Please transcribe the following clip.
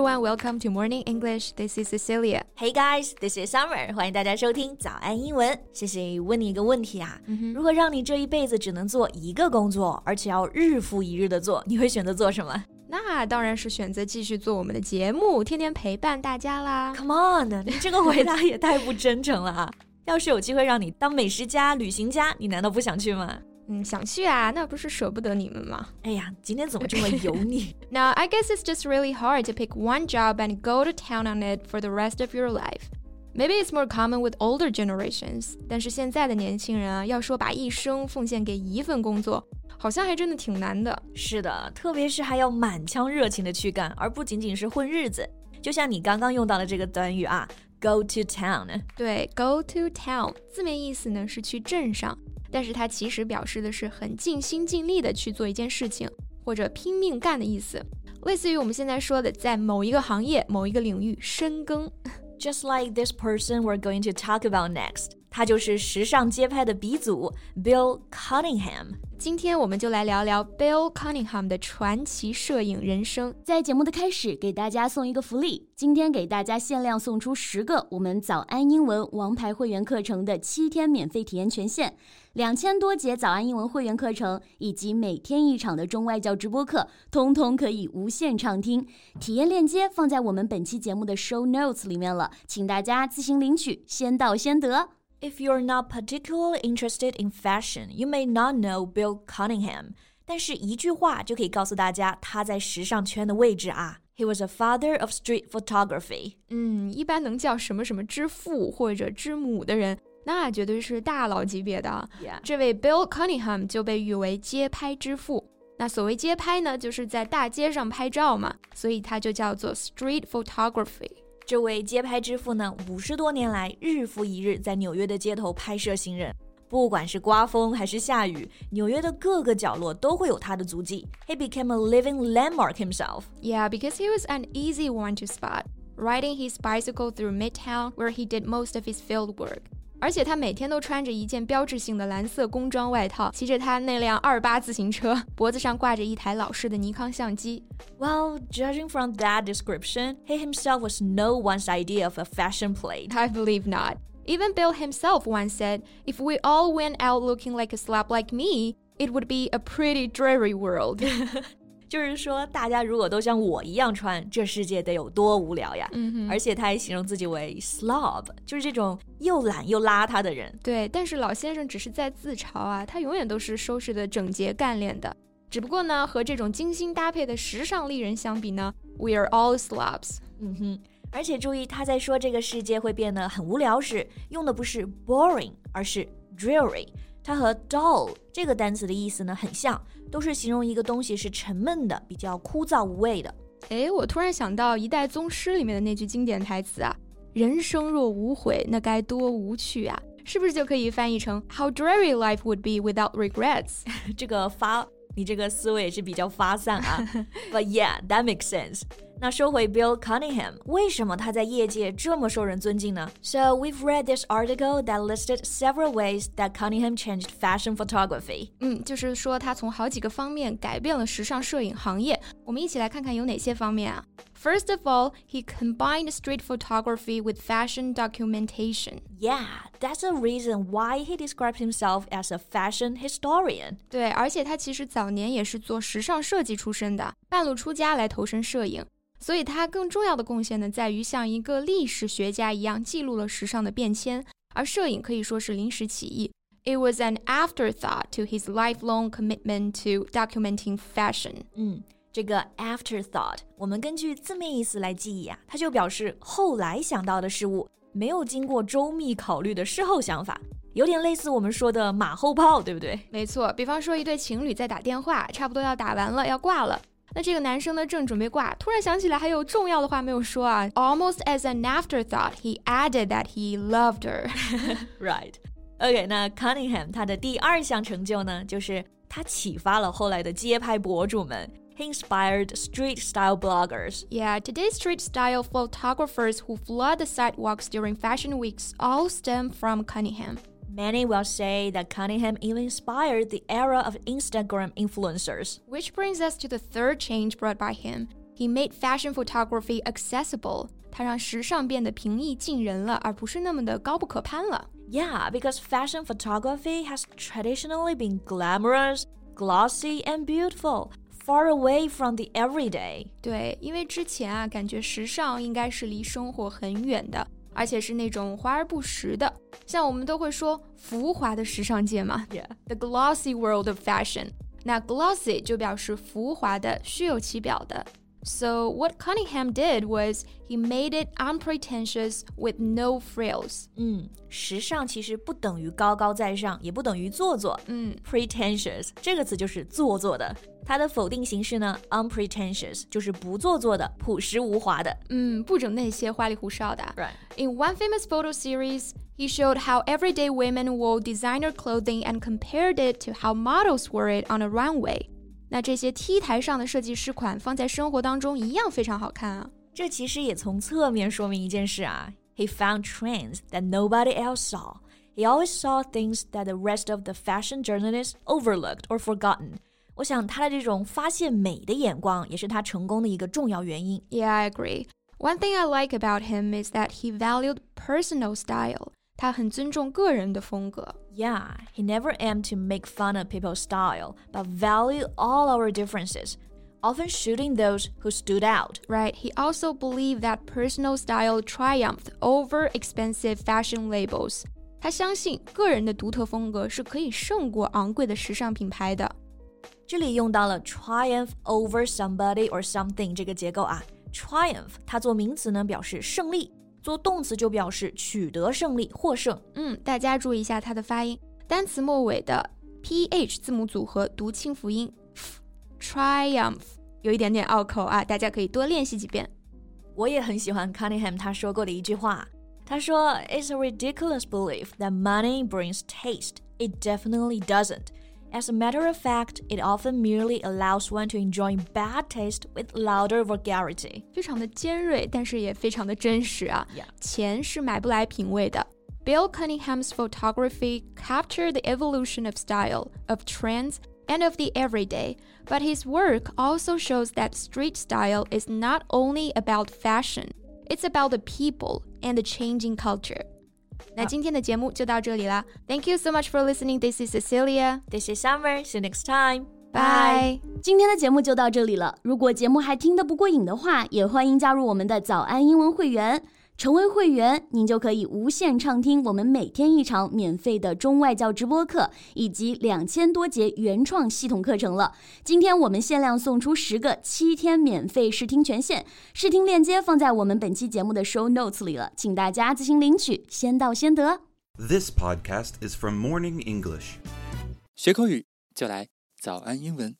everyone, welcome to Morning English. This is Cecilia. Hey guys, this is Summer. 欢迎大家收听早安英文。谢谢问你一个问题啊，如果让你这一辈子只能做一个工作，而且要日复一日的做，你会选择做什么？ 那当然是选择继续做我们的节目，天天陪伴大家啦。 Come on, 你这个回答也太不真诚了啊！要是有机会让你当美食家、旅行家，你难道不想去吗？ 想去啊，那不是舍不得你们吗？ 哎呀，今天怎么这么油腻 Now, I guess it's just really hard to pick one job and go to town on it for the rest of your life. Maybe it's more common with older generations. 但是现在的年轻人啊，要说把一生奉献给一份工作，好像还真的挺难的。 是的，特别是还要满腔热情的去干，而不仅仅是混日子。就像你刚刚用到的这个短语啊 ，go to town。 对 ，go to town 字面意思呢是去镇上，但是它其实表示的是很尽心尽力的去做一件事情，或者拼命干的意思，类似于我们现在说的在某一个行业、某一个领域深耕。 Just like this person we're going to talk about next. 他就是时尚街拍的鼻祖 Bill Cunningham。 今天我们就来聊聊 Bill Cunningham 的传奇摄影人生。 在节目的开始，给大家送一个福利，今天给大家限量送出10个我们早安英文王牌会员课程的7天免费体验权限，2000多节早安英文会员课程以及每天1场的中外教直播课，通通可以无限畅听。体验链接放在我们本期节目的 show notes 里面了，请大家自行领取，先到先得。 If you're not particularly interested in fashion, you may not know Bill Cunningham. 但是一句话就可以告诉大家他在时尚圈的位置啊。He was a father of street photography. 一般能叫什么什么之父或者之母的人，那绝对是大佬级别的。 Yeah. 这位 Bill Cunningham 就被誉为街拍之父。那所谓街拍呢，就是在大街上拍照嘛，所以它就叫做 street photography。 这位街拍之父呢，50多年来日复一日在纽约的街头拍摄行人，不管是刮风还是下雨，纽约的各个角落都会有他的足迹。He became a living landmark himself. Yeah, because he was an easy one to spot, riding his bicycle through Midtown, where he did most of his field work. 而且他每天都穿着一件标志性的蓝色工装外套，骑着他那辆28自行车，脖子上挂着一台老式的尼康相机。 Well, judging from that description, he himself was no one's idea of a fashion plate. I believe not. Even Bill himself once said, if we all went out looking like a slob like me, it would be a pretty dreary world. 就是说大家如果都像我一样穿，这世界得有多无聊呀。而且他还形容自己为 slob， 就是这种又懒又邋遢的人。 对，但是老先生只是在自嘲啊，他永远都是收拾的整洁干练的。只不过呢，和这种精心搭配的时尚丽人相比呢， we are all slobs。 而且注意，他在说这个世界会变得很无聊时，用的不是 boring， 而是 dreary。它和 dull 这个单词的意思呢很像，都是形容一个东西是沉闷的，比较枯燥无味的。 我突然想到《一代宗师》里面的那句经典台词啊，人生若无悔，那该多无趣啊，是不是就可以翻译成 How dreary life would be without regrets？ 你这个思维也是比较发散啊。But yeah, that makes sense. 那说回 Bill Cunningham， 为什么他在业界这么受人尊敬呢？ So we've read this article that listed several ways that Cunningham changed fashion photography. 就是说他从好几个方面改变了时尚摄影行业。我们一起来看看有哪些方面啊。First of all, he combined street photography with fashion documentation. Yeah, that's a reason why he described himself as a fashion historian. 对，而且他其实早年也是做时尚设计出身的，半路出家来投身摄影。所以他更重要的贡献呢，在于像一个历史学家一样记录了时尚的变迁，而摄影可以说是临时起意。It was an afterthought to his lifelong commitment to documenting fashion. 这个 afterthought 我们根据字面意思来记忆啊，它就表示后来想到的事物，没有经过周密考虑的事后想法，有点类似我们说的马后炮，对不对？ 没错，比方说一对情侣在打电话，差不多要打完了，要挂了。那这个男生呢，正准备挂，突然想起来还有重要的话没有说啊。Almost as an afterthought, he added that he loved her. Right. OK, 那 Cunningham 他的第2项成就呢，就是他启发了后来的街拍博主们。He inspired street-style bloggers. Yeah, today's street-style photographers who flood the sidewalks during fashion weeks all stem from Cunningham. Many will say that Cunningham even inspired the era of Instagram influencers. Which brings us to the third change brought by him. He made fashion photography accessible. 他让时尚变得平易近人了，而不是那么的高不可攀了。 Yeah, because fashion photography has traditionally been glamorous, glossy, and beautiful, far away from the everyday. 对，因为之前啊，感觉时尚应该是离生活很远的，而且是那种华而不实的。像我们都会说浮华的时尚界嘛 Yeah. The glossy world of fashion. 那 glossy 就表示浮华的、虚有其表的。So what Cunningham did was he made it unpretentious with no frills. 时尚其实不等于高高在上，也不等于做作。Pretentious 这个词就是做作的，它的否定形式呢 unpretentious 就是不做作的、朴实无华的。 不整那些花里胡哨的。 Right. In one famous photo series, he showed how everyday women wore designer clothing and compared it to how models wore it on a runway. 那这些 T 台上的设计师款放在生活当中一样非常好看啊。 这其实也从侧面说明一件事啊。He found trends that nobody else saw. He always saw things that the rest of the fashion journalists overlooked or forgotten. 我想他的这种发现美的眼光也是他成功的一个重要原因。 Yeah, I agree. One thing I like about him is that he valued personal style. 他很尊重个人的风格。 Yeah, he never aimed to make fun of people's style, but valued all our differences, often shooting those who stood out. Right, he also believed that personal style triumphed over expensive fashion labels. 他相信个人的独特风格是可以胜过昂贵的时尚品牌的。 这里用到了 triumph over somebody or something 这个结构啊。Triumph 它做名词呢表示胜利，做动词就表示取得胜利、获胜。 大家注意一下它的发音，单词末尾的 ph 字母组合读清辅音 triumph 有一点点拗口啊，大家可以多练习几遍。 我也很喜欢 Cunningham 他说过的一句话，他说 It's a ridiculous belief that money brings taste. It definitely doesn't. As a matter of fact, it often merely allows one to enjoy bad taste with louder vulgarity. 非常的尖锐，但是也非常的真实啊。 Yeah. 钱是买不来品味的。Bill Cunningham's photography captured the evolution of style, of trends, and of the everyday, but his work also shows that street style is not only about fashion, it's about the people and the changing culture. 那今天的节目就到这里啦。Thank you so much for listening. This is Cecilia. This is Summer. See you next time. Bye. 今天的节目就到这里了。如果节目还听得不过瘾的话，也欢迎加入我们的早安英文会员。成为会员，您就可以无限畅听我们每天一场免费的中外教直播课，以及2000多节原创系统课程了。今天我们限量送出10个7天免费试听权限，试听链接放在我们本期节目的 show notes 里了，请大家自行领取，先到先得。 This podcast is from Morning English. 学口语就来早安英文。